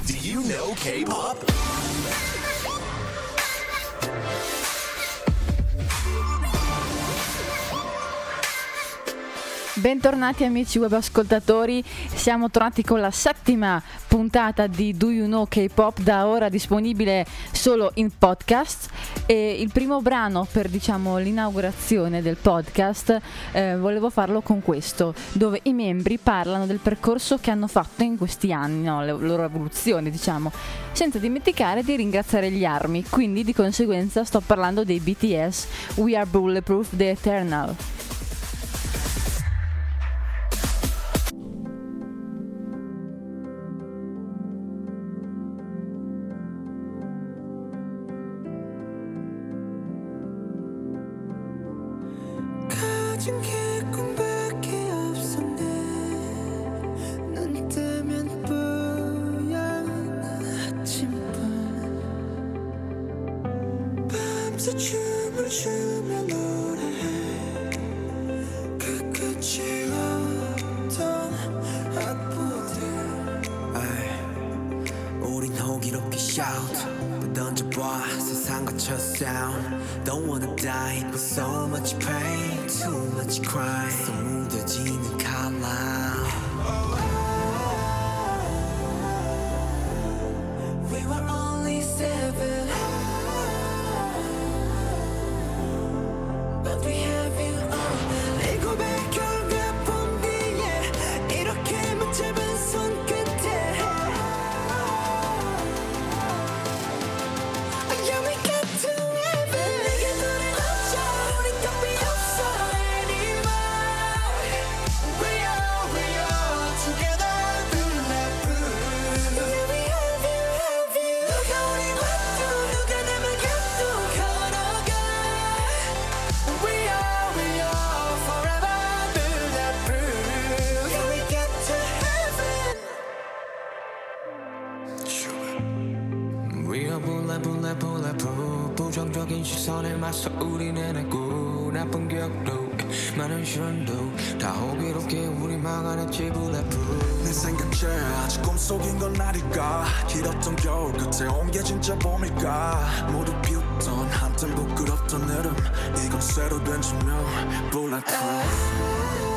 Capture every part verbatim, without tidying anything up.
Do you know K-pop? Bentornati amici web ascoltatori, siamo tornati con la settima puntata di Do You Know K-pop, da ora disponibile solo in podcast. E il primo brano per, diciamo, l'inaugurazione del podcast eh, volevo farlo con questo, dove i membri parlano del percorso che hanno fatto in questi anni, no? La loro evoluzione, diciamo, senza dimenticare di ringraziare gli ARMY. Quindi di conseguenza sto parlando dei B T S, We Are Bulletproof, The Eternal. 춤을 추며 노래해 끝끝이 없던 악보들 우린 호기롭게 shout 던져봐 세상 거쳐 sound Don't wanna die but so much pain Too much crime 속 묻어지는 칼라 We were only seven 부정적인 시선에 맞서 우리는 했고 나쁜 기억도 많은 시련도 다 호기롭게 우리 막아냈지 bulletproof 내 생각에 아직 꿈속인 건 아닐까 길었던 겨울 끝에 온 게 진짜 봄일까 모두 비웃던 한땐 부끄럽던 이름 이건 새로 된 조명 bulletproof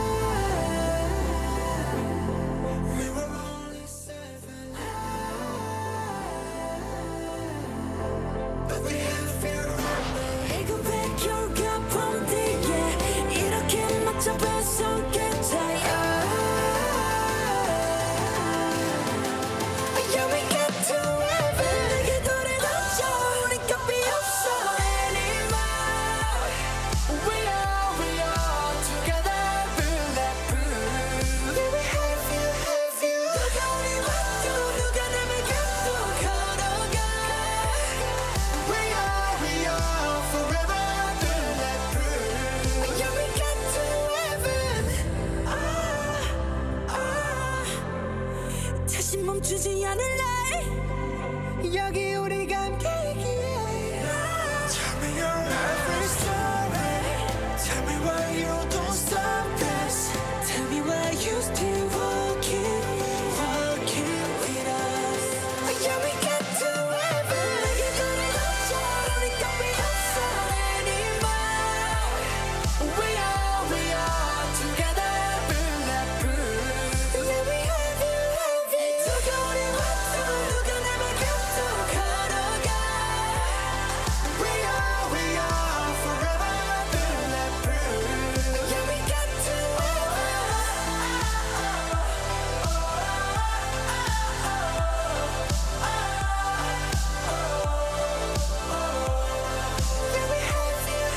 멈추지 않을래 여기 우리가 함께이기에 Tell me your every story Tell me why you don't stop this Tell me why you still walking Walking with us Yeah we get to heaven 내게 돌아가자 우리 값이 없어 anymore We are, we are together bulletproof Yeah we have you, have you 누가 우리 왔어 누가 날 막혔어 걸어가 We are, we are forever bulletproof Yeah we got to Yeah we have you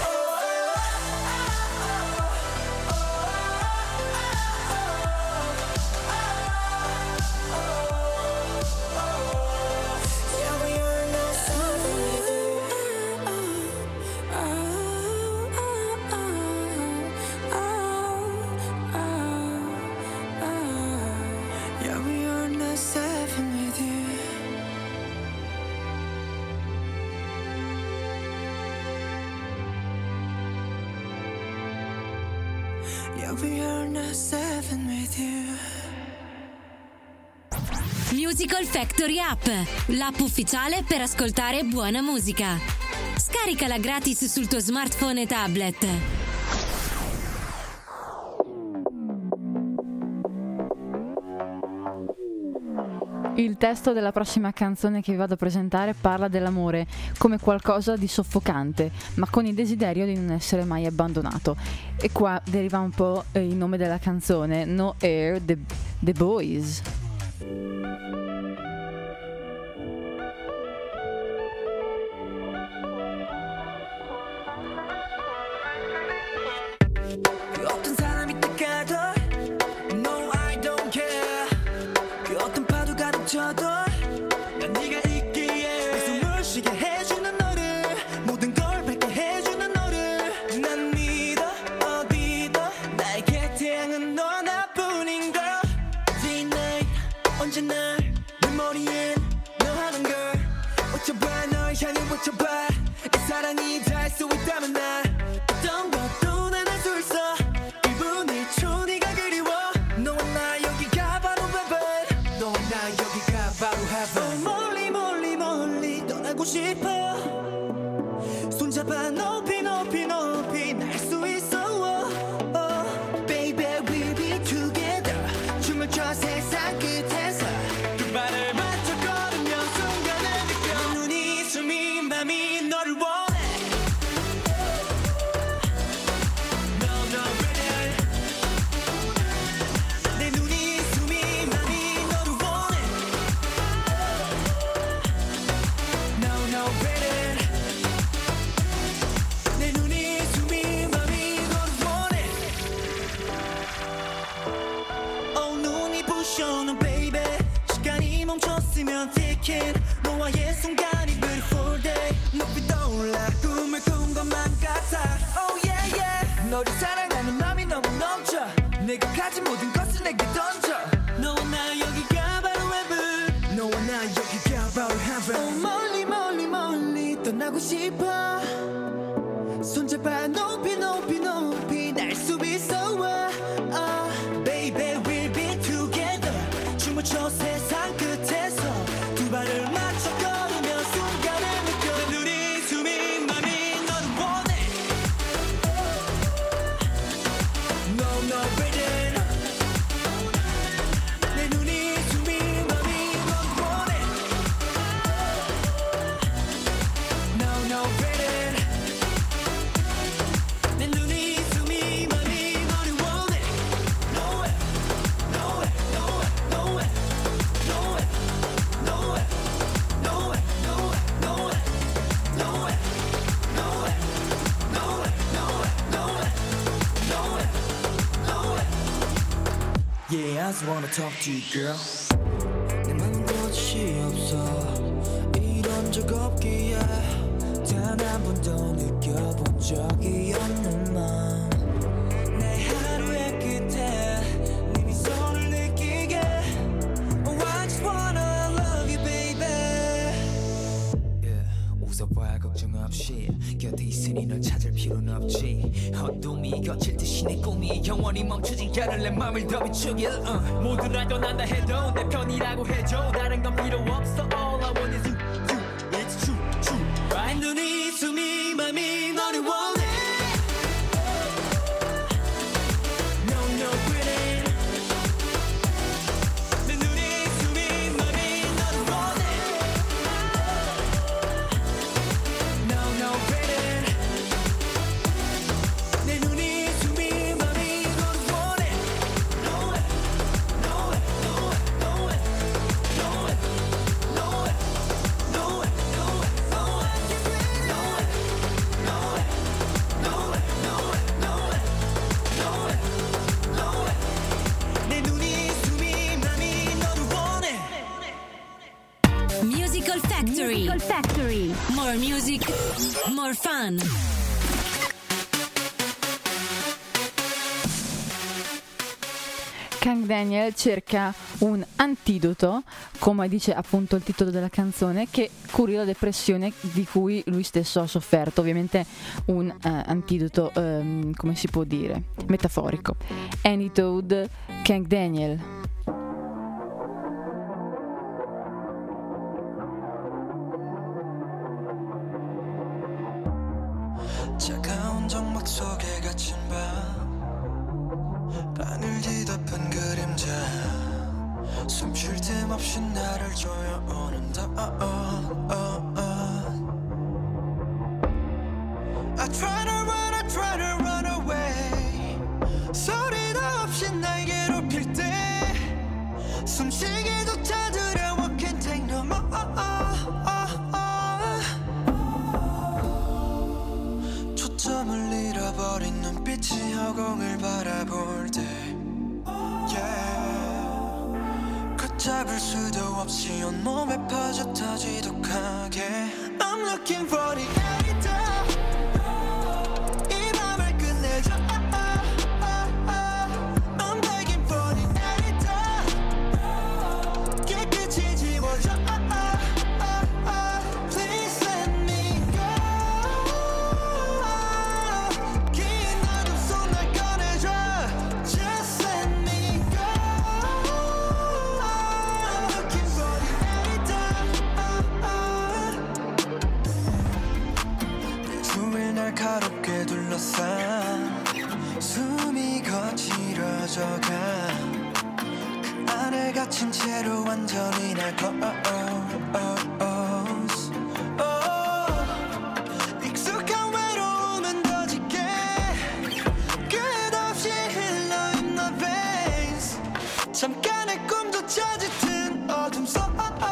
Yeah, we are not something with you. Oh, oh, oh, oh, oh, oh. Yeah, we are not seven with you. Yeah, we are not seven with you. Musical Factory App, l'app ufficiale per ascoltare buona musica. Scaricala gratis sul tuo smartphone e tablet. Il testo della prossima canzone che vi vado a presentare parla dell'amore come qualcosa di soffocante, ma con il desiderio di non essere mai abbandonato. E qua deriva un po' il nome della canzone, No Air, The, The Boys. 그 어떤 사람이 떠가도 No I don't care 그 어떤 파도가 덮쳐도 난 네가 있기에 내 숨을 쉬게 해주는 너를 모든 걸 밝게 해주는 너를 난 믿어 어디도 나의 곁에는 너 하나뿐인 걸 Day night 언제나 내 머리엔 너 하는 걸 어쩌봐 널 향해 어쩌봐 이 사랑이 닿을 수 있다면 나 어떤 것도 난 할 수 있어 일 분 일 초 네가 그리워 너와 나 여기가 바로 heaven 너와 나 여기가 바로 heaven 어, 멀리 멀리 멀리 떠나고 싶어 손잡아 높이 높이 높이 날 수 있어 oh, oh. Baby we'll be together 춤을 춰 세상 끝에서 두 발을 맞춰 걸으며 순간을 느껴 눈이 숨이 맘이 너를 원해 No no better 내 눈이 숨이 맘이 너를 원해 No no better 내 눈이 숨이 맘이 너를 원해 Oh 눈이 부셔 너 baby 시간이 멈췄으면 ticking 너와의 순간이 beautiful day 높이 떠올라 꿈을 꾼 것만 같아 Oh yeah yeah 너를 사랑하는 맘이 너무 넘쳐 내가 가진 모든 것을 내게 던져 너와 나 여기가 바로 heaven 너와 나 여기가 바로 heaven oh, 멀리 멀리 멀리 떠나고 싶어 손잡아 높이 높이 높이 날 수 있어 oh, oh. Baby we'll be together 춤을 춰 세상 끝에서 두 발을 맞춰 걸으며 순간을 느껴 내 눈이 숨이 맘이 너를 원해 No no baby 내 눈이 숨이 맘이 너를 원해 No no baby 내 눈이 숨이 맘이 너를 원해 No way No way No way No way No way No way No way No way No way No way No way No way No way No way No way No way Yeah I just wanna talk to you girl 내 맘은 곳이 없어 이런 적 없기에 단 한 번도 느껴본 적이 없는 마음 내 하루의 끝에 네 미소를 느끼게 Oh I just wanna love you baby yeah, 웃어봐 걱정 없이 곁에 있으니 널 찾을 필요는 없지 어둠이 거칠 듯이 내 꿈이 영원히 멈추지 않을 내 맘을 더 비추길 uh. 모든 날 떠난다 해도 내 편이라고 해줘 다른 건 필요 없어 All I want is you, you It's true, true 내 눈이 숨이 맘이 너를 원해 No no pretty 내 눈이 숨이 맘이 너를 원해 No no pretty 내 눈이 숨이 맘이 너를 원해 No way No way No way No way No way No way No way No way No way 내 눈이 숨이 맘이 너를 원해 Musical Factory. Musical Factory. More music, more fun. Kang Daniel cerca un antidoto, come dice appunto il titolo della canzone, che curi la depressione di cui lui stesso ha sofferto. Ovviamente un uh, antidoto, um, come si può dire, metaforico. Antidote, Kang Daniel. 차가운 정막 속에 갇힌 밤 방을 뒤덮은 그림자 숨 쉴 틈 없이 나를 조여오는 더 I try to run, I try to run away 소리도 없이 날 괴롭힐 때 숨쉬기조차 두려워 Can't take no more 초점을 잃어버린 눈빛이 허공을 바라볼 때 yeah. 걷잡을 수도 없이 온몸에 퍼져 터지독하게 I'm looking for the editor 이 밤을 끝내줘 I'm begging for the editor 깨끗이 지워줘 Please let me go 긴 어둠 속 날 꺼내줘 Just let me go I'm looking for the editor 주위를 날카롭게 둘러싼 숨이 거칠어져가 그 안에 갇힌 채로 완전히 날 close 익숙한 외로움은 더 짙게 끝없이 흘러 in my veins 잠깐의 꿈조차 짙은 어둠 속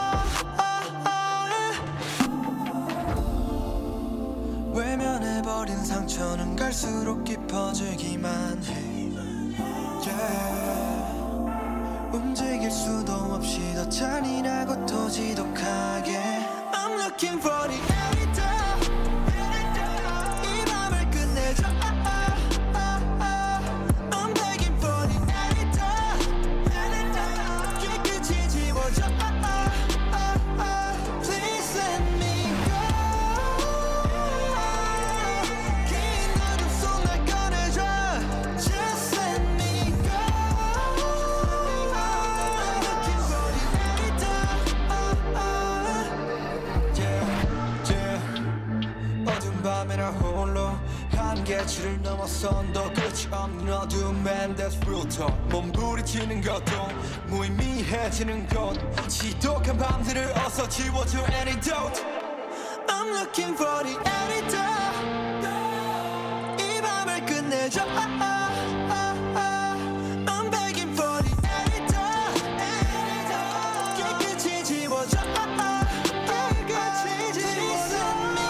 외면해버린 상처는 갈수록 깊어지기만 해 yeah. 움직일 수도 없이 더 잔인하고 더 지독하게 I'm looking for the editor 이 밤을 끝내줘 I'm begging for the editor 깨끗이 지워줘 Please let me go 긴 어둠 속 날 꺼내줘 Just let me go I'm looking for the editor yeah, yeah. 어두운 밤에 나 홀로 한계치를 넘어선 더 끝이 없는 어둠엔 That's real talk 몸부리치는 것도 무의미해지는 것 지독한 밤들을 어서 지워줘 Antidote I'm looking for the editor 이 밤을 끝내줘 I'm begging for the editor 깨끗이 지워줘 깨끗이 지워줘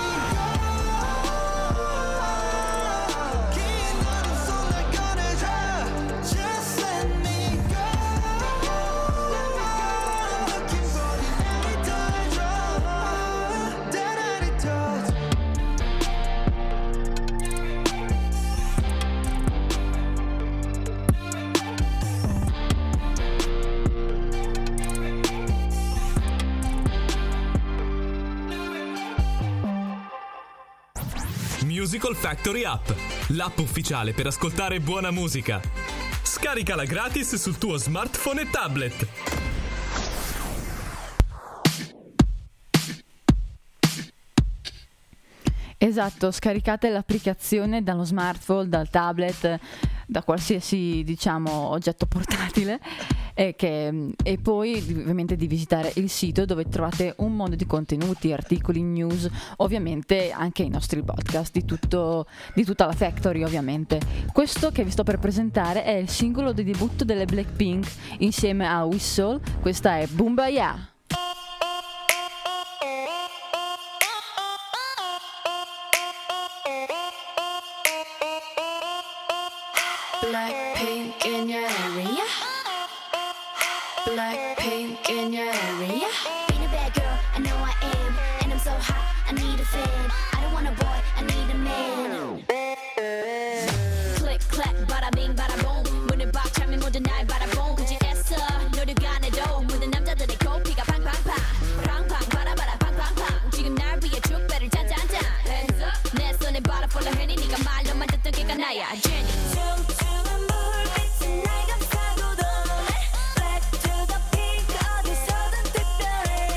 긴 어둠 속 날 꺼내줘 Just let me go I'm looking for the editor that editor Musical Factory App, l'app ufficiale per ascoltare buona musica. Scaricala gratis sul tuo smartphone e tablet. Esatto, scaricate l'applicazione dallo smartphone, dal tablet, da qualsiasi, diciamo, oggetto portatile e, che, e poi ovviamente di visitare il sito dove trovate un mondo di contenuti, articoli, news, ovviamente anche i nostri podcast di, tutto, di tutta la Factory ovviamente. Questo che vi sto per presentare è il singolo di debutto delle Blackpink insieme a Whistle, questa è Boombayah. Blackpink in your area. Blackpink in your area. Being a bad girl, I know I am. And I'm so hot, I need a fan. I don't want a boy, I need a man. Click, clack, bada bing, bada boom. 문을 박 차면 모두 날 바라본 굳이 애써 노력 안 해도 모든 남자들의 코피가 팡팡팡 팡팡 바라바라 팡팡팡 지금 날 위해 축배를 짠짠짠 Hands up 내 손에 바라 폴라 해니 네가 말로만 듣던 걔가 나야 Jenny 퉁퉁한 불빛은 날 감싸고 도네 Black to the pink 어디서든 특별해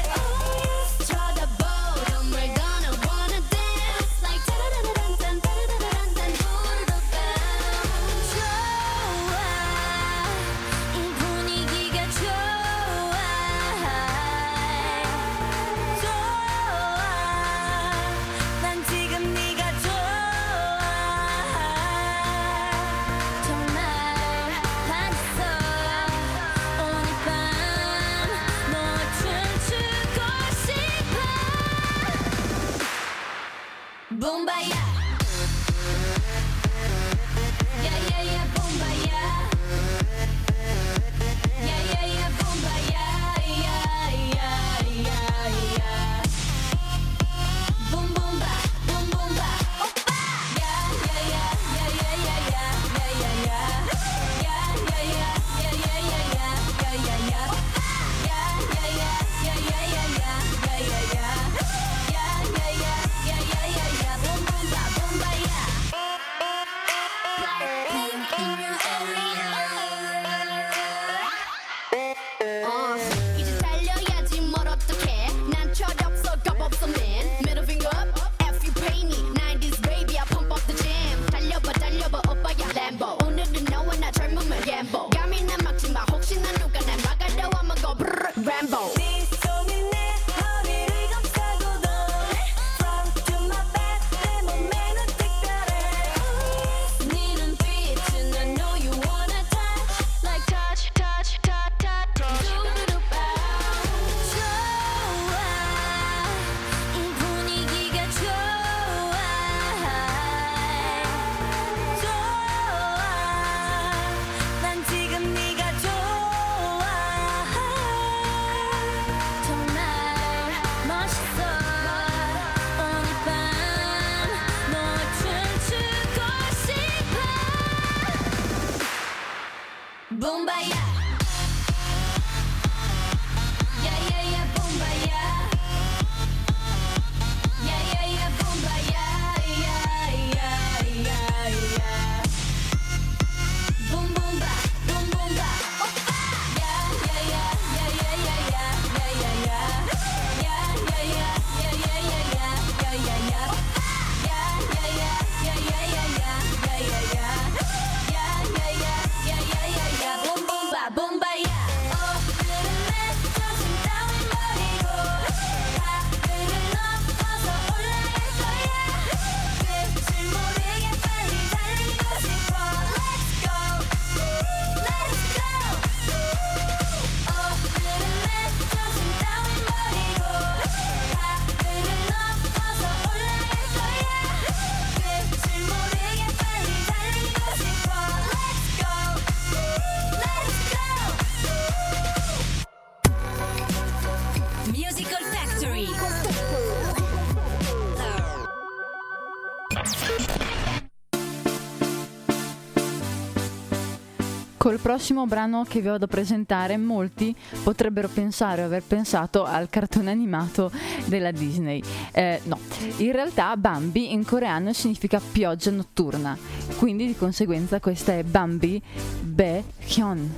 Rambo. Col prossimo brano che vi vado a presentare, molti potrebbero pensare o aver pensato al cartone animato della Disney. Eh, no, in realtà Bambi in coreano significa pioggia notturna, quindi di conseguenza questa è Bambi Bae Hyun.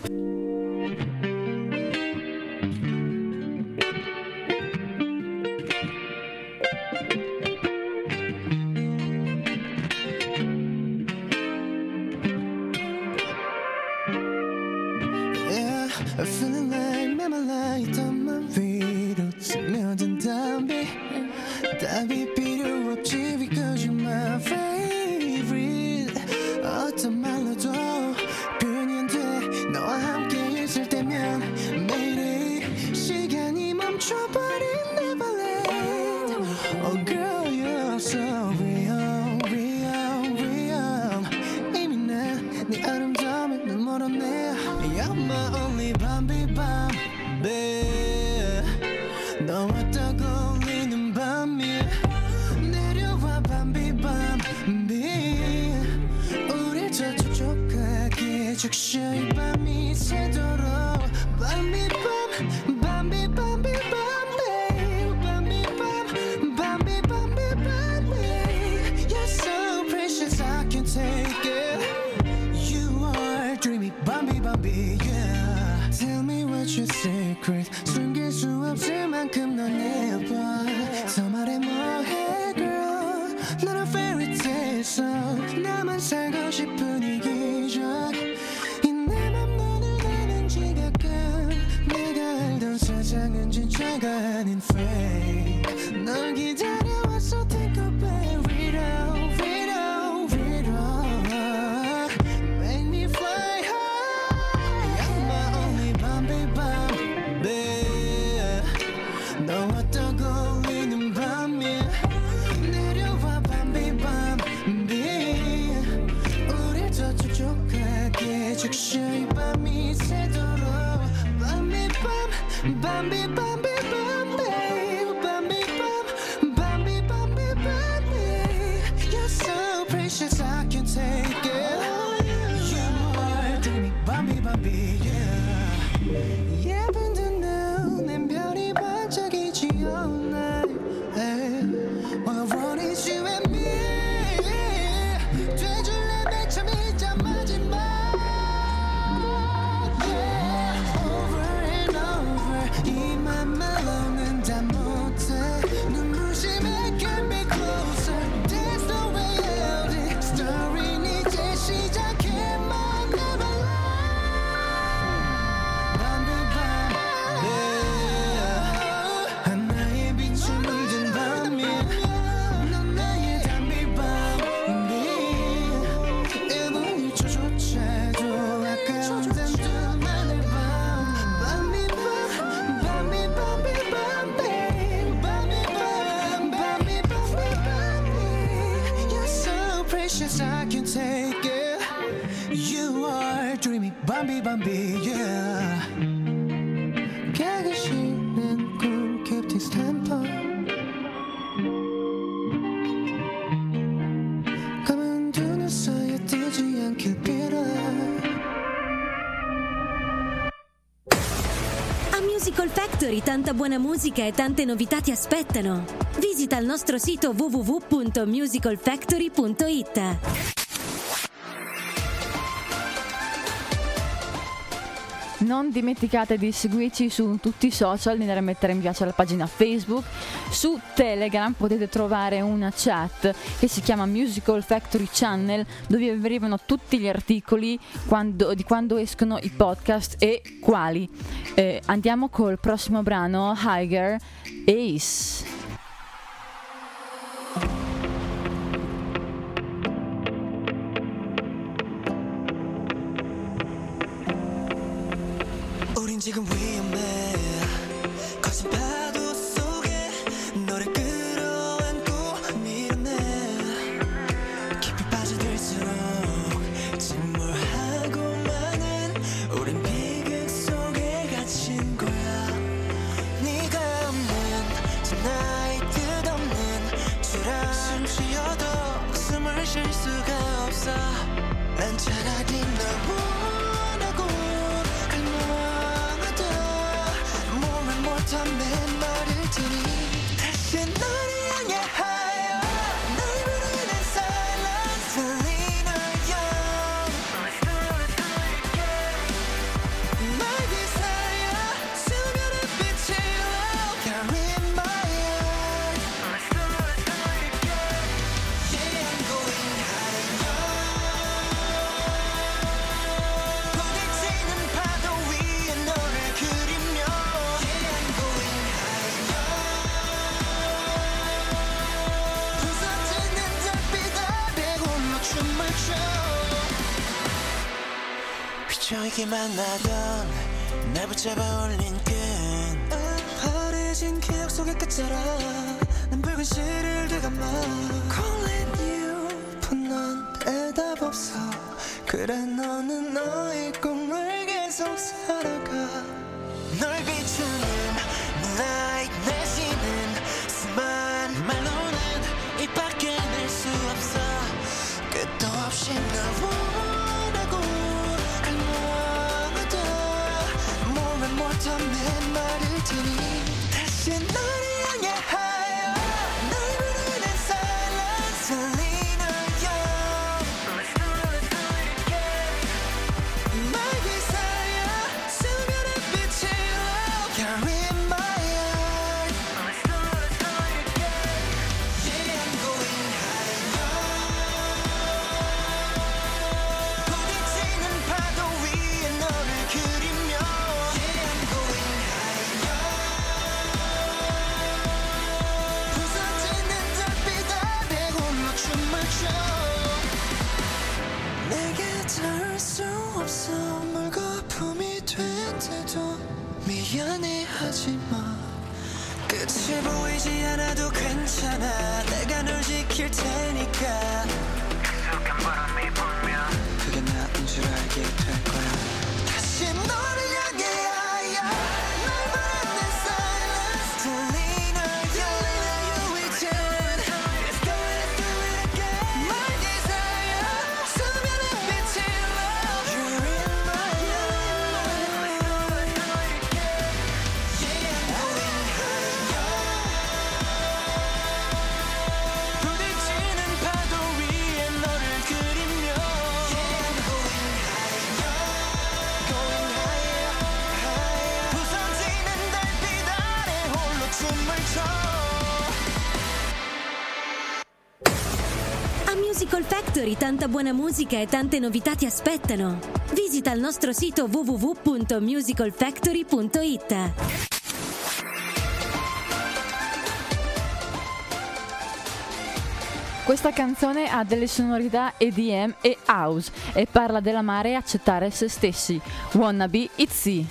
I'm feeling like Marmalade on my 위로 스며든 담비 답이 필요 없지 because you're my favorite 어떤 말로도 표현이 안 돼 너와 함께 있을 때면 매일이 시간이 멈춰버린 Neverland Oh girl you're so real real real 이미 난 네 아름다움에 눈 멀었네 You're my only Bambi Bambi 너와 딱 어울리는 밤이 내려와 Bambi Bambi 우릴 더 촉촉하게 적셔 이 밤이 새도록 Bambi Bam Bambi Bambi Bambi Bambi Bam Bambi Bambi Bambi You're so precious I can't take it You are dreamy Bambi Bambi yeah Tell me what's your secret 숨길 수 없을 만큼 넌 예뻐 더 말해 뭐해 girl 넌 a fairy tale 속 나만 살고 싶은 이 기적 이 내 맘 너를 다는 지각감 내가 알던 세상은 진짜가 아닌 fake 널 기다려왔어 take a back read out read out read out make me fly high You're my only Bambi Bambi 너와 딱 어울리는 밤이 내려와 Bambi Bambi 우릴 더 촉촉하게 적셔 이 밤이 새도록 Bambi Bam Bambi Bambi Bambi Bambi Bam Bambi Bambi Bambi You're so precious I can't take it You are dreamy Bambi Bambi yeah 예쁜 듯 눈엔 별이 반짝이지 all night All I want is you and me 돼줄래 맨 처음이자 마지막 Yeah Over and over 이 맘 밤비 밤비 yeah 깨기 싫은 꿈 캡틴 스탬퍼 감은 두 눈 사이에 뜨지 않길 빌어 A Musical Factory tanta buona musica e tante novità ti aspettano. Visita il nostro sito w w w punto musical factory punto i t. Non dimenticate di seguirci su tutti i social, di andare a mettere mi piace alla pagina Facebook. Su Telegram potete trovare una chat che si chiama Musical Factory Channel, dove vi arrivano tutti gli articoli quando, di quando escono i podcast e quali. Eh, andiamo col prossimo brano, Higher Ace. 우린 지금 위험해 거친 파도 속에 너를 끌어안고 밀어내 깊이 빠져들수록 침몰하고만은 우린 비극 속에 갇힌 거야 네가 없는 tonight 끝없는 추락 숨 쉬어도 숨을 쉴 수가 없어 난 차라리 널 원하고 더 맨발을 들이 다시 너를 향해 higher 널 부르는 silence feeling young My desire 수면의 빛이 low carry my heart Yeah I'm going higher 부딪히는 파도 위에 너를 그리며 비춰있기만 하던 날 붙잡아 올린 끈 파래진 기억 속에 끝자락 난 붉은 실을 되감아 Calling you 넌 대답 없어 그래 너는 너의 꿈을 계속 살아가 널 비추는 moonlight 내쉬는 수많은 말로는 입 밖에 낼 수 없어 끝도 없이 널 원하고 못한 내 말을 들이 다시 너를 향해 higher 널 부르는 silence feeling young My desire 수면의 빛이 low carry my heart Yeah I'm going higher 부딪히는 파도 위에 너를 그리며 내게 닿을 수 없어 물거품이 된데도 미안해 하지마 끝이 보이지 않아도 괜찮아 내가 널 지킬 테니까 익숙한 바람이 불면 그게 나인 줄 알게 될 거야 다시 너를 향해 higher 날 부르는 silence 들리는 you return Let's do it, do it again My desire 수면의 빛이 low You're in my life Yeah I'm going higher 부딪히는 파도 위에 너를 그리며 Yeah I'm going higher going higher higher 부서지는 달빛 아래 홀로 춤을 춰 A Musical Factory tanta buona musica e tante novità ti aspettano. Visita il nostro sito w w w punto musical factory punto i t. Questa canzone ha delle sonorità E D M e house e parla dell'amare e accettare se stessi. Wannabe Itzy.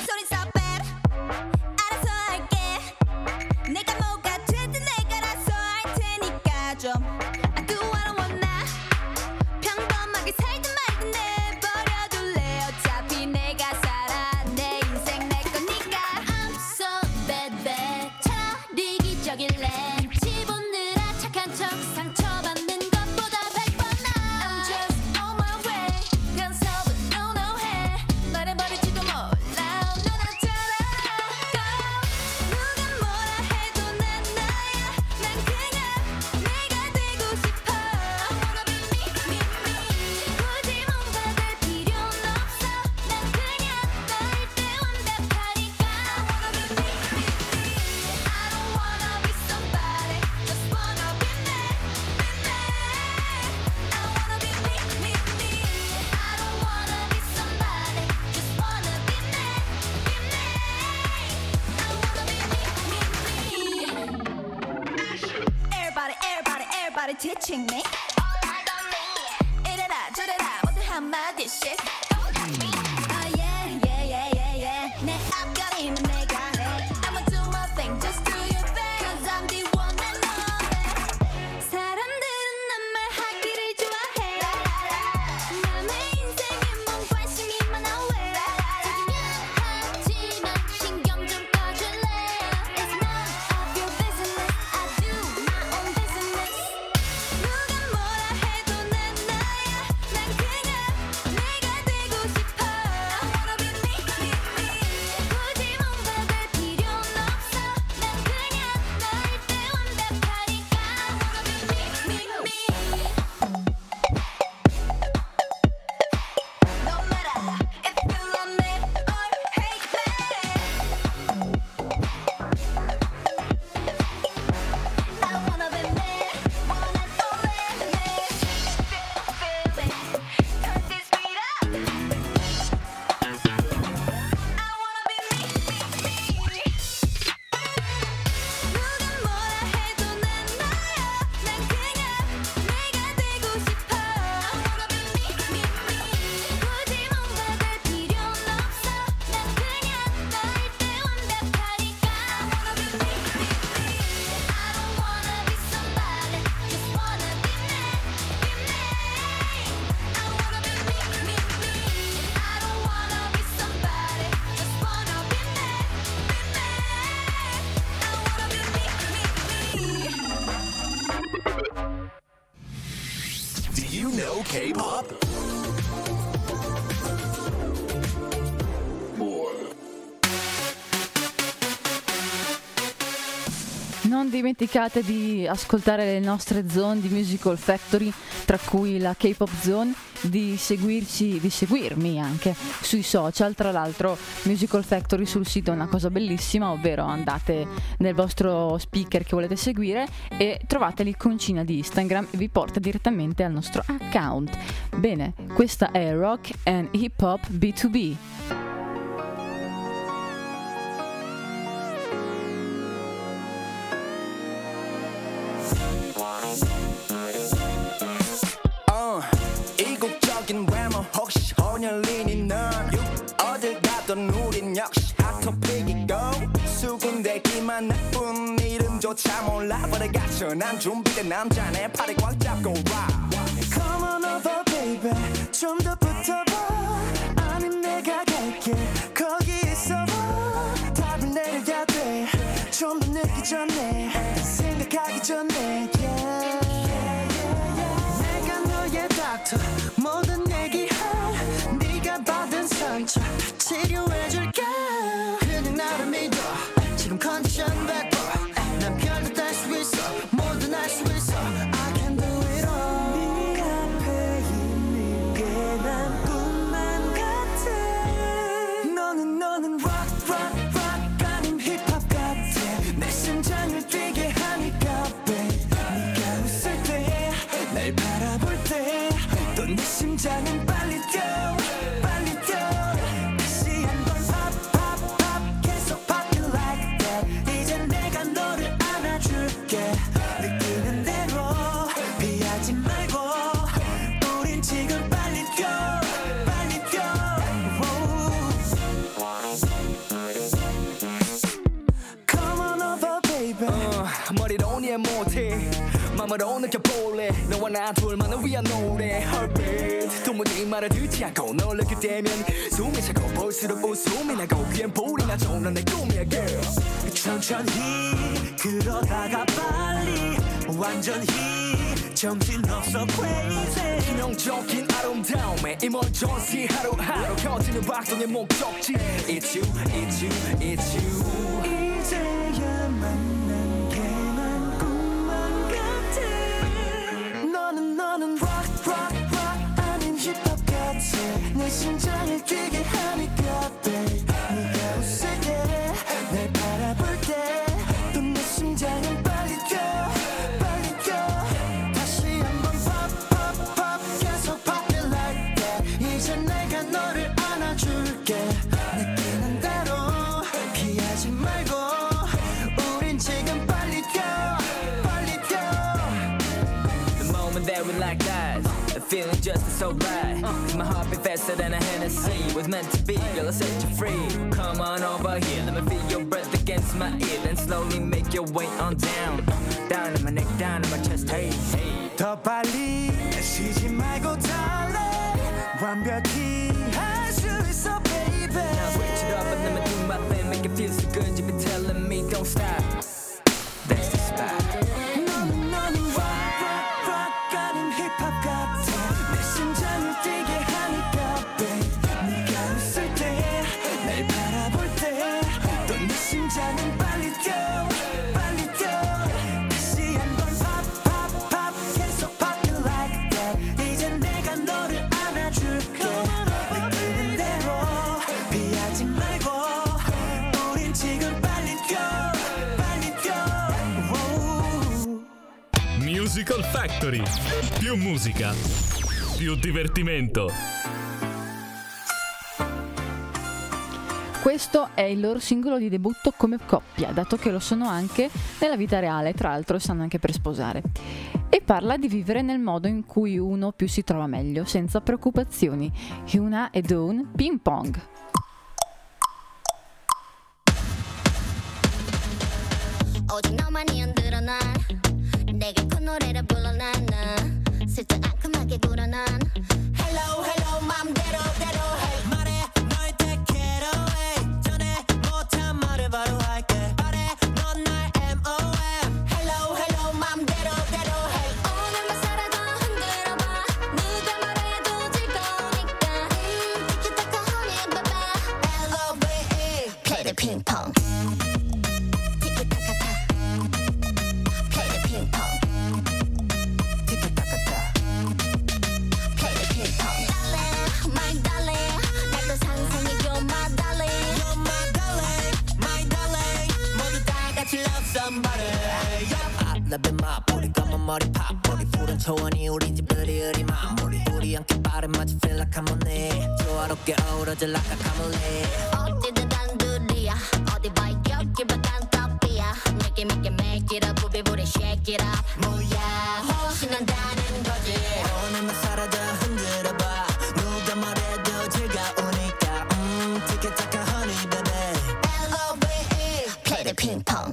소리 stop it 알아서 할게 내가 뭐가 됐든 내가 알아서 할 테니까 좀 I do what I want now 평범하게 살든 말든 내버려둘래 어차피 내가 살아 내 인생 내 거니까 I'm so bad bad 차라리 기적일래 집오느라 착한 척 상처받는 것보다 백 번 나아 I'm just on my way 변섭은 no no 해 말해버릴지도 몰라 눈앞처럼 go 누가 뭐라 해도 난 나야 난 그냥 내가 되고 싶어 I wanna be me me me 굳이 뭔가 될 필요는 없어 난 그냥 너일 때 완벽하니까 I wanna be me me me I don't wanna be somebody just wanna be me me me I wanna be me me me I don't wanna be somebody just wanna be me be me I wanna be me me me Everybody everybody everybody teaching me 이래라 저래라 모두 한마디씩 Oh yeah yeah yeah yeah yeah 내 앞가림은 내가 해 I'ma do my thing just do your thing Cause I'm the one and only 사람들은 난 말하기를 좋아해 남의 인생에 뭔 관심이 많아 왜 하지만 신경 좀 꺼줄래 It's none of your business I do my own business 누가 뭐라 해도 난 나야 난 그냥 내가 되고 싶어 I wanna be me me me 굳이 뭔가 될 필요는 없어 난 그냥 너일 때 완벽하니까 I wanna be me me me No matter if you love me or hate me I wanna be me one and only me Feel, feel it turn this beat up I wanna be me me me 누가 뭐라 해도 난 나야 난 그냥 내가 되고 싶어 I wanna be me me me 굳이 뭔가 될 필요는 없어 난 그냥 너일 때 완벽하니까 I wanna be me me me I don't wanna be somebody just wanna be me be me I wanna be me me me I don't wanna be somebody just wanna be me be me I wanna be me me me Do you know K-pop? Non dimenticate di ascoltare le nostre zone di Musical Factory, tra cui la K-Pop Zone, di seguirci, di seguirmi anche sui social. Tra l'altro Musical Factory sul sito è una cosa bellissima, ovvero andate nel vostro speaker che volete seguire e trovate l'iconcina di Instagram e vi porta direttamente al nostro account. Bene, questa è Rock and Hip Hop B due B. 어, 이국적인 외모 혹시 혼혈이니 넌 어딜 가던 우린 역시 핫토픽이고 수군대기만 나쁜 이름조차 몰라 버려 갇혀 난 준비된 남자네 팔에 꽉 잡고 ride Come on over baby 좀 더 붙어봐 아님 내가 갈게 거기 있어봐 답을 내려야 돼 좀 더 늦기 전에 생각하기 전에 yeah. 내가 너의 닥터 모든 얘기해 네가 받은 상처 치료해줄게 그냥 나를 믿어 지금 컨디션 백 퍼센트 난 별도 딸 수 있어 뭐든 할 수 있어 I can do it all 네 앞에 있는 게 난 꿈만 같아 너는 너는 rock rock rock 아님 힙합 같아 내 심장을 뛰게 하니까 babe 네가 웃을 때 날 바라볼 때 또 내 심장은 빨리 뛰어 빨리 뛰어 다시 한 제대로 느껴볼래 너와 나 둘만을 위한 노래 Heartbeat 도무지 말을 듣지 않고 널 느낄 때면 숨이 차고 볼수록 웃음이 나고 귀엔 불이 나죠 넌 내 꿈이야 girl 천천히 그러다가 빨리 완전히 정신없어 crazy 치명적인 아름다움에 이멀전시 하루하루 커지는 박동의 목적지 It's you, it's you, it's you 이제야 만난 게만 꿈만 같아 너는 너는 rock rock rock 아닌 힙합 같아 내 심장을 뛰게 하니까 babe 네가 웃을 때 날 바라볼 때 또 내 심장은 빨리 뛰어 빨리 뛰어 다시 한번 pop pop pop 계속 pop it like that 이제 내가 너를 안아줄게 느끼는 대로 피하지 말고 우린 지금 빨리 뛰어 빨리 뛰어 The moment that we like that the feeling just so right Cause my heart beat faster than a Hennessy Was meant to be, girl, I'll set you free Come on over here, let me feel your breath against my ear Then slowly make your way on down Down to my neck, down to my chest, hey, hey 더 빨리 쉬지 말고 달래 완벽히 할 수 있어 baby Now switch it up and let me do my thing Make it feel so good, you've been telling me don't stop That's the spot 너는 너는 rock rock rock 아닌 힙합 같아 내 심장을 뛰게 하니까 babe 네가 웃을 때 날 바라볼 때 또 내 심장은 빨리 뛰어 빨리 뛰어 다시 한번 pop pop pop 계속 pop it like that 이제 내가 너를 안아줄게 느끼는 대로 피하지 말고 우린 지금 빨리 뛰어 빨리 뛰어 Whoa. Musical Factory. Più musica, più divertimento. Questo è il loro singolo di debutto come coppia, dato che lo sono anche nella vita reale, tra l'altro stanno anche per sposare. E parla di vivere nel modo in cui uno più si trova meglio, senza preoccupazioni. Hyuna e Dawn, Ping Pong. 오직 너만이 흔들어 난 내게 콧노래를 불러 난 슬쩍 앙큼하게 굴어 난 Hello hello 맘대로 대로 hey 말해 널 take it away 전에 못한 말을 바로 할게 말해 넌 날 엠 오 엠 Hello hello 맘대로 대로 hey 오늘만 살아도 흔들어봐 누가 말해도 즐거우니까 음 티키타카 honey baby L O V E Play the ping pong 라벤마 뿌리 검은 머리 팝 우리 푸른 초원이 우리 집들이 흐린 마무리 우리 함께 빠른 마치 feel like I'm on it 조화롭게 어우러질 like a camel 어디든 단둘이야 어디 봐 여기밖에 안 top 이야 Make it make it make it up 부비부리 shake it up 뭐야 신난다는 거지 오늘만 살아도 흔들어봐 누가 말해도 즐거우니까 음 티켓타카 honey baby L O V E Play the ping pong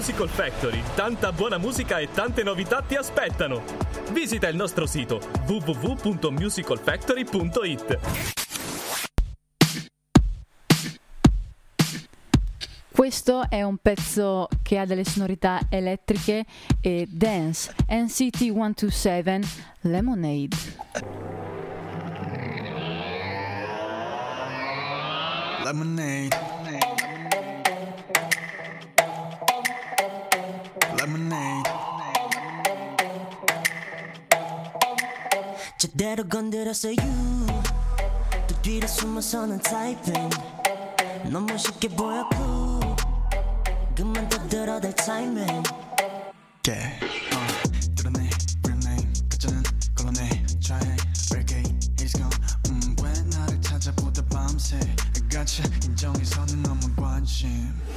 Musical Factory, tanta buona musica e tante novità ti aspettano. Visita il nostro sito w w w punto musical factory punto i t. Questo è un pezzo che ha delle sonorità elettriche e dance. N C T centoventisette, Lemonade. Lemonade. Lemonade. 제대로 건드렸어 you 또 뒤로 숨어서는 타이핑 너무 쉽게 보였고 그만 더 들어댈 타이밍 Yeah, uh, 드러내, rename, 가짜는 걸러내, try, break it, he's gone. 음, 왜 나를 찾아보다 밤새, 가짜 인정해서는 너무 관심.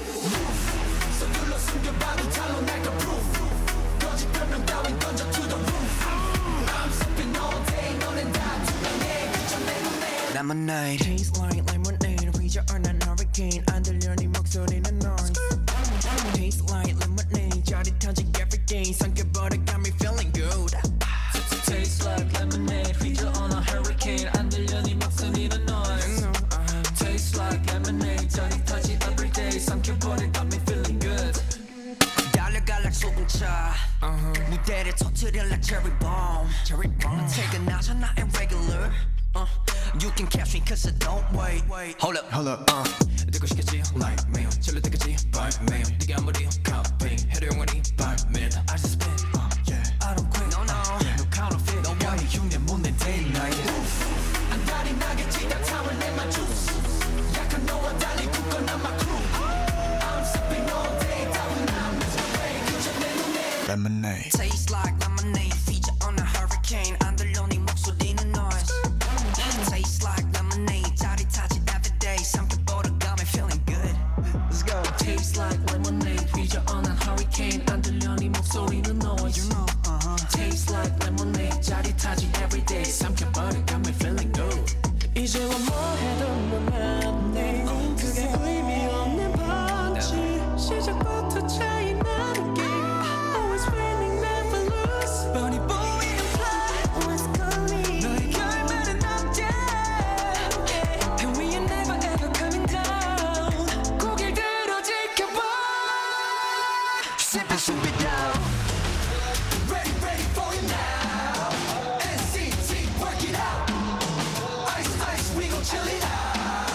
서둘러 숨겨봐도 탈로 날까 proof. 거짓 변명 따윈 던져 to the roof. I'm sipping all day, 너넨 다 투명해, 그저 내 눈에. Lemonade. Taste like lemonade, 위저 않은 hurricane, 안 들려 네 목소리는 noise. Taste like lemonade, 짜릿하지 every day, 삼켜버려 got me feeling good. Taste like lemonade, 위저 on a hurricane, 안 들려 네 목소리는 noise. Taste like lemonade, 짜릿하지 every day, 삼켜버려 got me feeling good. 달려갈락 소금차 uh-huh. 무대를 터뜨려 like cherry bomb, cherry bomb. 퇴근하자 나 irregular. Uh, you can catch me cause I don't wait. Hold up, hold up. Uh, 듣고 싶겠지 like me. 절로 때까지 by me. 네가 아무리 copy 해도 영원히 by me. I just spin, uh, yeah. I don't quit, no no. Yeah. No counterfeit, no way. 흉내 못 내 day and night. 안달이 나겠지 다 탐을 내만 juice. 약한 너와 달리 굳건한 my crew. I'm sipping all day, 따윈 안 미쳐해. 그저 내 눈에. Lemonade. Taste like lemonade, feature on a hurricane. 안 들려 네 목소리는 noise. Taste like lemonade, 짜릿하지 every day. 삼켜버려 got me feeling good. Let's go. Taste like lemonade, 위저 on a hurricane, 안 들려 네 목소리는 noise. You know, uh-huh. Taste like lemonade, 짜릿하지 every day, 삼켜버려 got me feeling good. 이제와 뭐 해도 lemonade, 그게 의미 없는 반지. 시작부터 차이 나는 게 always winning, never lose. Bunny boy and fly, what's coming? 너의 결말은 언제? And we are never ever coming down. 고개를 들어 지켜봐. Sip it, sip it down. Ready, ready for it now. N C T, work it out. Ice, ice, we gon' chill it out.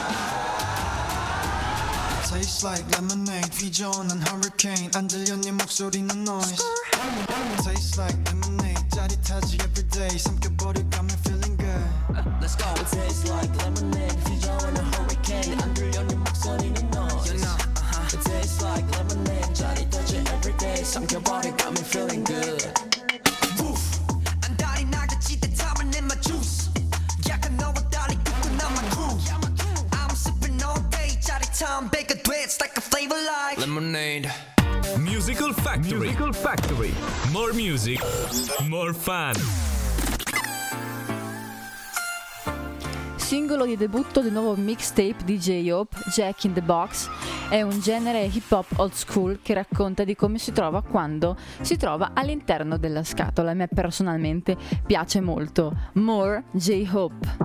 Tastes like lemonade, 비전한 hurricane. 안 들려 네 목소리는 noise. Tastes like lemonade, 짜릿하지 every day. 삼켜버려 got me feeling good. Let's go. It tastes like lemonade, 위저 on a hurricane, 안 들려 네 목소리는 noise. You know, uh-huh. It tastes like lemonade, 짜릿하지 every day, 삼켜버려 got me feeling good. Woof. 안달이 나겠지 다 탐을 내 my juice. 약한 너와 달리 굳건한 my crew. I'm sipping all day, 짜릿한 배가 돼. It's like a flavor like lemonade. Musical Factory. Musical Factory. More music, more fun. Singolo di debutto del nuovo mixtape di J-Hope, Jack in the Box, è un genere hip hop old school che racconta di come si trova quando si trova all'interno della scatola. A me personalmente piace molto. More J-Hope.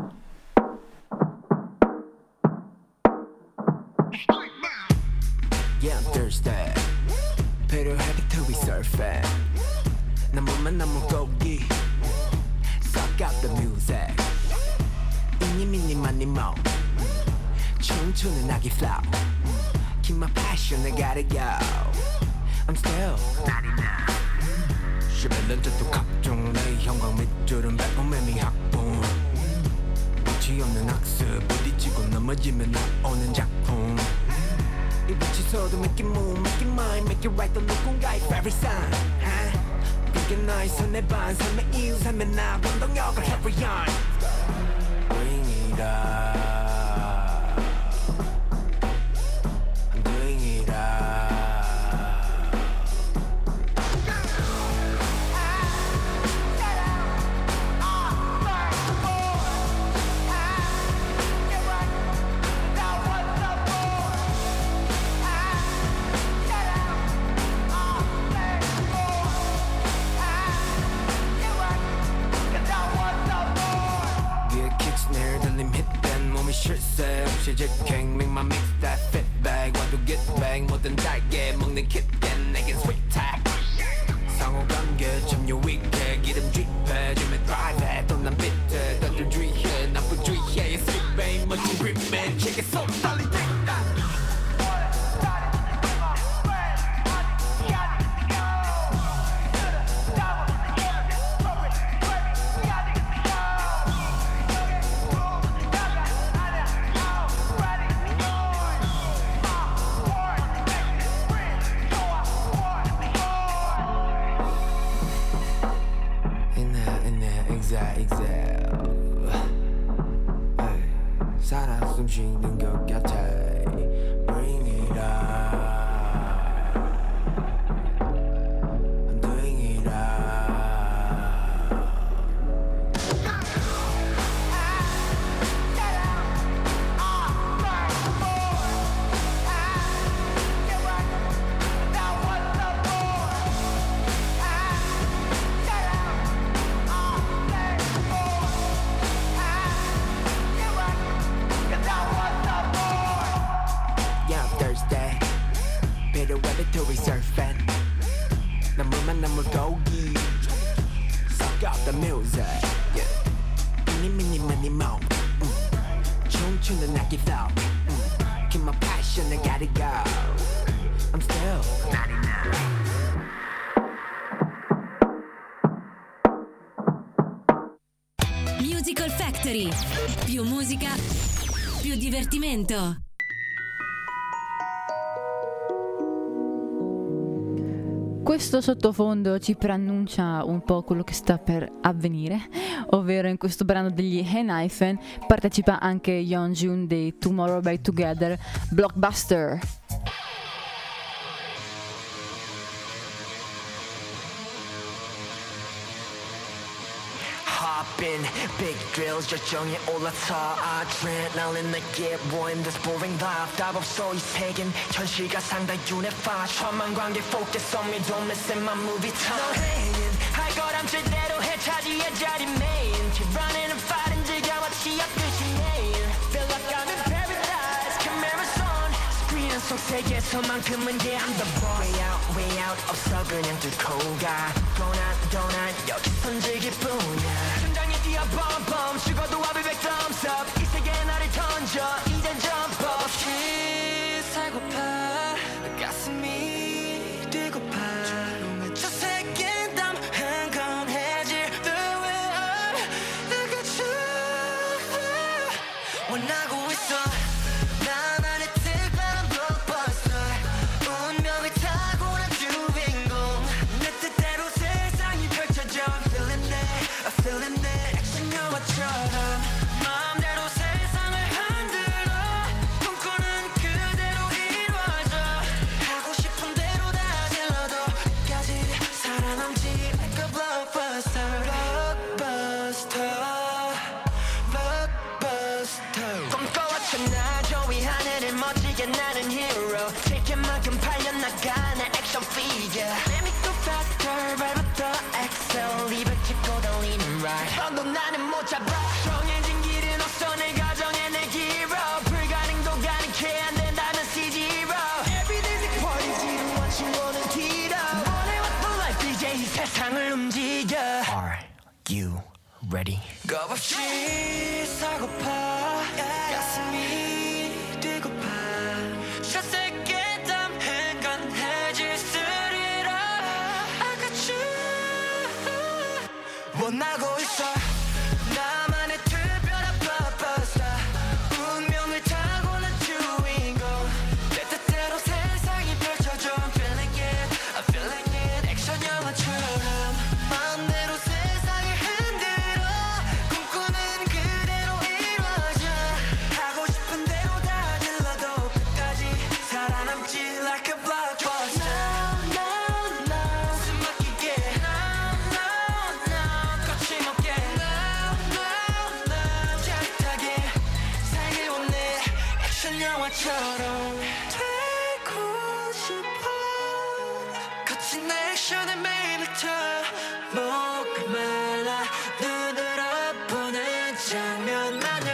Yeah, I'm thirsty. 필요하게 to be surfing. 난 몸만 너무 고기. Suck up the music. 이니 미니 마니 모. 춤추는 아기 flow. Keep my passion, I gotta go. I'm still not enough. 쉐벨은 저도 각종 내 형광 밑줄은 백오매미 학봉. 끝이 없는 학습 부딪히고 넘어지면 나오는 작품. 이 빛에서도 make it move, make it mine, make it right 또 누군가의 favorite sign. 그게 나의 손에 반 삶의 이유 삶의 나 원동력을 carry on. Bring it up. I'm doing it up. snare 들림 hit then 몸이 실세 없이 직행 Make my mix that fit bag Want to get bang 뭐든 달게 먹는 kit then 내겐 sweet tag 상호관계 참 유익해 기름 쥐패 줌에 drive 또난 비트 던질 주의해 나쁜 주의해 sweet bang 멋진 gripman check it so solid 살아 숨쉬는 것 같아 Bring it up I'm doing it up We're surfing 나물만 나물 고기 Suck up the music yeah. Mini mini mini mo mm. 춤추는 악기 flow mm. Keep my passion I gotta go I'm still ninety-nine Musical Factory. Più musica, più divertimento. Questo sottofondo ci preannuncia un po' quello che sta per avvenire, ovvero in questo brano degli Enhypen partecipa anche Yeonjun dei Tomorrow by Together, Blockbuster. Hopping, big drills 열정이 올라타 Adrenaline 내게 보인 this boring life 답 없어 이 세계는 현실과 상당히 unified 천만관계 focus on me don't miss in my movie time 너희는 할 거람 제대로 해 차지의 자리 main Keep running and fighting 지겨워치 앞끝이 main Feel like I'm in paradise Cameras on Screen 속 세계에서만큼은 yeah I'm the boss Way out, way out 없어 그냥 뚫고 가 Don't out, don't out 여기선 즐기뿐이야 심장이 뛰어 bomb bomb 죽어도 I'll be back thumbs up 이 세계에 나를 던져 이젠 jump up 없이 살고파 가슴이 뛰고파 저 새끼 땀 흥건해질 the way 내가 주 원하고 있어 나만의 특별한 blockbuster 운명을 타고난 주인공 내 뜻대로 세상이 펼쳐져 I'm feeling it I'm feeling it 액션 영화처럼 마음대로 세상을 흔들어 꿈꾸는 그대로 이루어져 하고 싶은 대로 다 질러도 끝까지 살아남지 like a blockbuster blockbuster blockbuster 꿈꿔왔잖아 저 위 하늘을 멋지게 나는 hero 칠킬 만큼 팔려나가는 액션 figure Let me go faster 밟았더 excel 입을 짚고 달리는 ride 넌도 나는 못 잡아 정해진 길은 없어 내 가정의 내 hero 불가능도 가능해 안 된다는 C-Zero Everyday's a party 지루한 친구는 뒤로 원해 what the life 이제 이 세상을 움직여 Are you ready? 겁없이 살고파 가슴이 뛰고파 저 새끼 땀 흥건해질 쓰리라 I got you 원하고 있어 나만의 특별한 blockbuster 운명을 타고난 주인공 내 뜻대로 세상이 펼쳐져 I'm feeling it I'm feeling it 액션 영화처럼 마음대로 세상을 흔들어 꿈꾸는 그대로 이루어져 하고 싶은 대로 다 질러도 끝까지 살아남지 like a blockbuster No, no, no 숨 막히게 No, no, no 거침없게 No, no, no 짜릿하게 살길 원해 액션 영화처럼 되고 싶어 거친 액션의 매일부터 목말라 눈으로 보는 장면만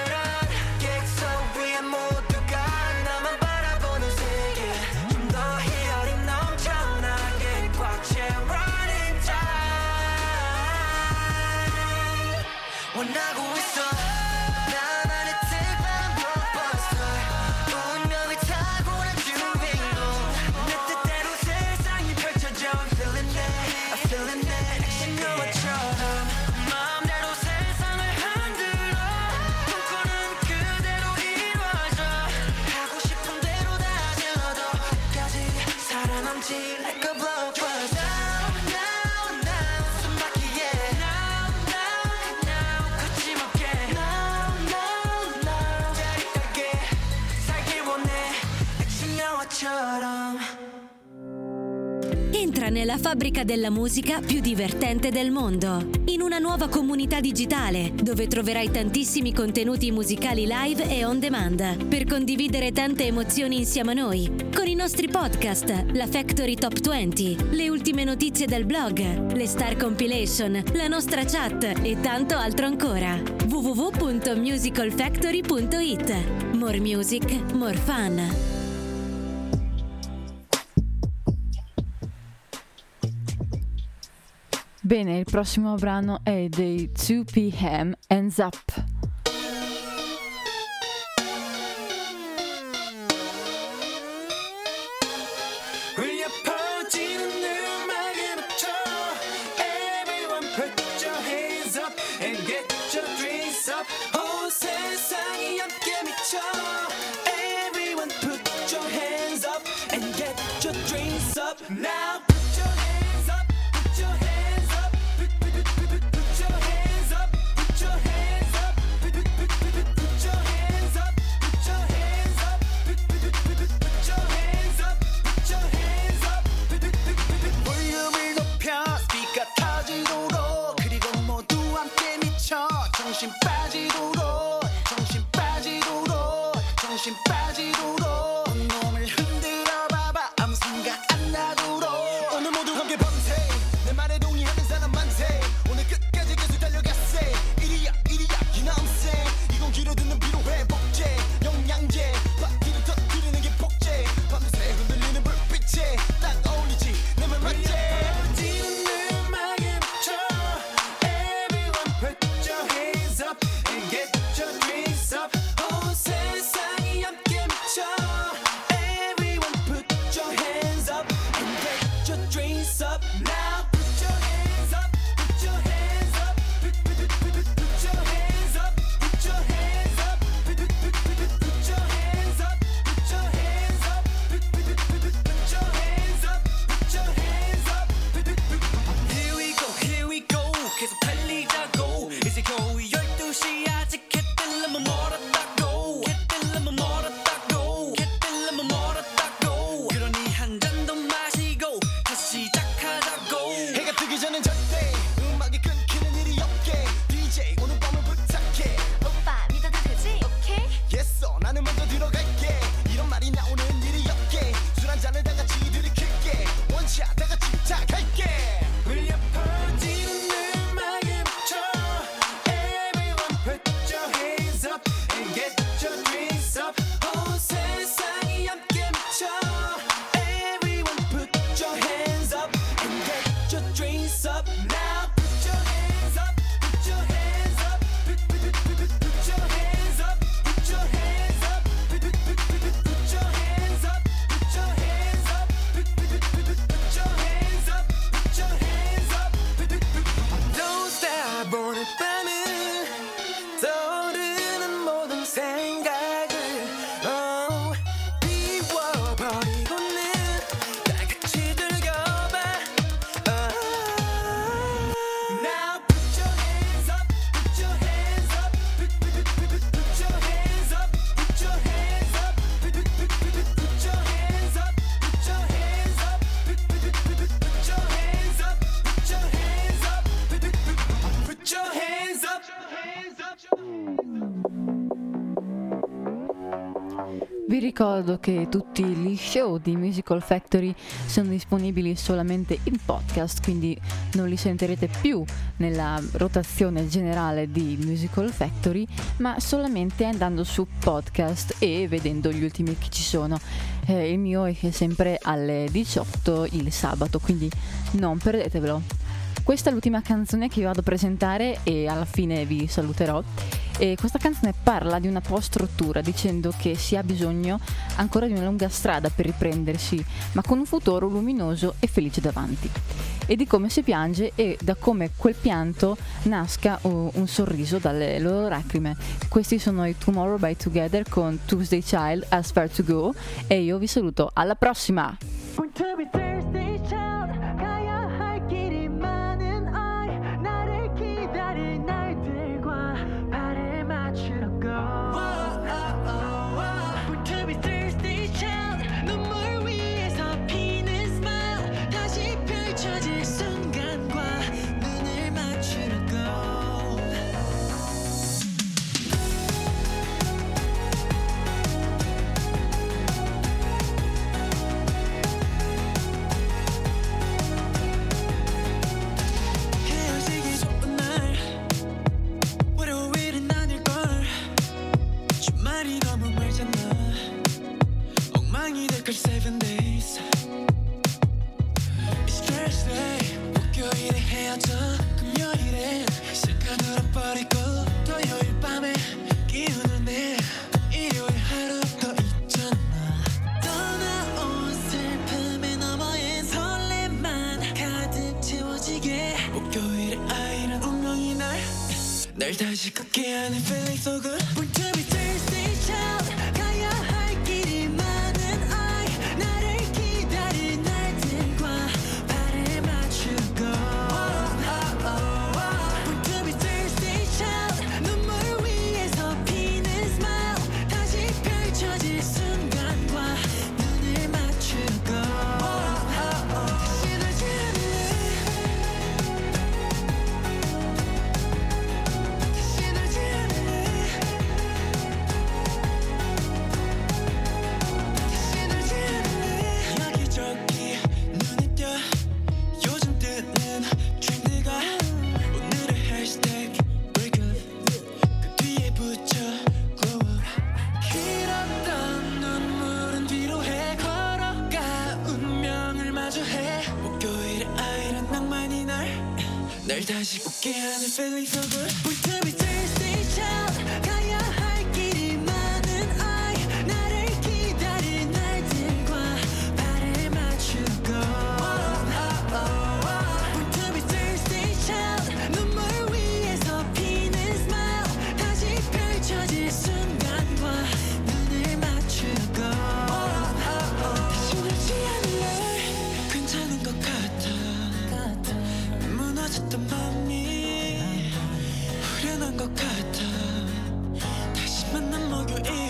Entra nella fabbrica della musica più divertente del mondo, in una nuova comunità digitale dove troverai tantissimi contenuti musicali live e on demand per condividere tante emozioni insieme a noi, con i nostri podcast, la Factory Top venti, le ultime notizie del blog, le Star Compilation, la nostra chat e tanto altro ancora. w w w punto musical factory punto i t. More music, more fun. Bene, il prossimo brano è dei two p m, Hands Up. 울려 퍼지는 음악에 맞춰 Everyone put your hands up and get your drinks up. 온 세상이 함께 미쳐 Everyone put your hands up and get your drinks up. Now put your hands up, put your hands up, put, put, put, put, put your hands up, put your hands up, put, put, put, put, put your hands up, put your hands up, put, put, put, put, put your hands up, put your hands up, put, put, put, put. 볼륨을 높여 스피커 터지도록 그리고 모두 함께 미쳐 정신 빠지도록 정신 빠지도록 정신 빠지도록 온몸을 흔들어 봐봐 아무 생각 안 나도록 오늘 모두 함께 밤새 내 말에 동의하는 사람 많대 오늘 끝까지 계속 달려갔세 이리야 이리야 기남세 이 공기로 듣는 피로회 복제 영양제 파티를 터뜨리는 게 복제 밤새 흔들리는 불빛에 딱 어울리지 내 말 맞지 퍼지는 음악에 맞춰 Everyone put your hands up and get your drinks up. 온 세상이 함께 미쳐 Everyone put your hands up and get your drinks up. Now put your hands up, put your hands up, put, put, put, put, put, put your hands up, put your hands up, put, put, put, put, put, put your hands up, put your hands up, put, put, put, put, put, put your hands up, put your hands up, put, put, put. Here we go, here we go. 계속 달리자고 이제 겨우 열두 시 아직 해뜰려면 멀었다고 해뜰려면 멀었다고 해뜰려면 멀었다고 그러니 한 잔 더 마시고 다시 시작하자고. 해가 뜨기 전엔 절대 음악이 끊기는 일이 없게 디제이 오늘 밤을 부탁해. 오빠 믿어도 되지? 오케이? Yes, 어, 나는 먼저 들어갈게. 이런 말이 나오는 일이 없게 술 한 잔을 다 같이 들이킬게. 원샷 다 같이 시작할게. 울려 퍼지는 음악에 맞춰 Everyone put your hands up and get your drinks up. 온 세상이 함께 미쳐 Everyone put your hands up and get your drinks up. Now put your hands up, put your hands up, put, put, put, put, put, put your hands up, put your hands up, put, put, put, put, put, put your hands up, put your hands up, put, put, put, put, put, put your hands up, put your hands up, put, put, put. Don't stop 오늘 밤은 떠오르는 모든 생각을 oh, 비워버리고는 다 같이 즐겨봐. oh. Now put your hands up, put your hands up, put, put, put, put, put, put your hands up, put your hands up, put, put, put, put, put, put your hands up, put your hands up, put, put, put, put, put, put your hands up, put your hands up, put, put, put, put your hands up. Vi ricordo che tutti gli show di Musical Factory sono disponibili solamente in podcast, quindi non li sentirete più nella rotazione generale di Musical Factory, ma solamente andando su podcast e vedendo gli ultimi che ci sono. Eh, il mio è sempre alle diciotto il sabato, quindi non perdetevelo. Questa è l'ultima canzone che vi vado a presentare e alla fine vi saluterò. E questa canzone parla di una post-rottura, dicendo che si ha bisogno ancora di una lunga strada per riprendersi, ma con un futuro luminoso e felice davanti, e di come si piange e da come quel pianto nasca uh, un sorriso dalle loro lacrime. Questi sono i Tomorrow by Together con Tuesday Child, As Far To Go, e io vi saluto, alla prossima! To be thirsty child, 눈물 위에서 피는 smile 다시 펴 말이 너무 멀잖아. 엉망이 될 걸 seven days. It's Thursday. 목요일에 헤어져 금요일에 시간을 버리고 토요일 밤에 기운을 내 일요일 하루 더 있잖아. 떠나온 슬픔의 너머엔 설렘만 가득 채워지게 목요일에 아이란 운명이 날 날 다시 걷게 하는 feeling so good. Born to be Thursday child. 가야 할 길이 많은 I. 나를 기다릴 날들과 발을 맞추고 Born to be Thursday child. 눈물 위에서 피는 smile. 다시 펼쳐질 순간과 눈을 맞추고 다시 놀지 않을래. 여기저기 눈에 띄어 요즘 뜨는 트렌드가 오늘의 해시태그 break up 그 뒤에 붙여 glow up. 길었던 눈물은 뒤로 해 걸어가 운명을 마주해 목요일에 아이란 낭만이 날 날 다시 웃게 하는 feeling so good. Born to be Thursday child. 가야 할 길이 많은 I. 나를 기다릴 날들과 발을 맞추고 Born to be Thursday child. 눈물 위에서 피는 smile. 다시 펼쳐질 순간과 눈을 맞추고 다시 놀지 않을래. 괜찮은 것 같아. 무너졌던 맘이 후련한 것 같아. 다시 만난 목요일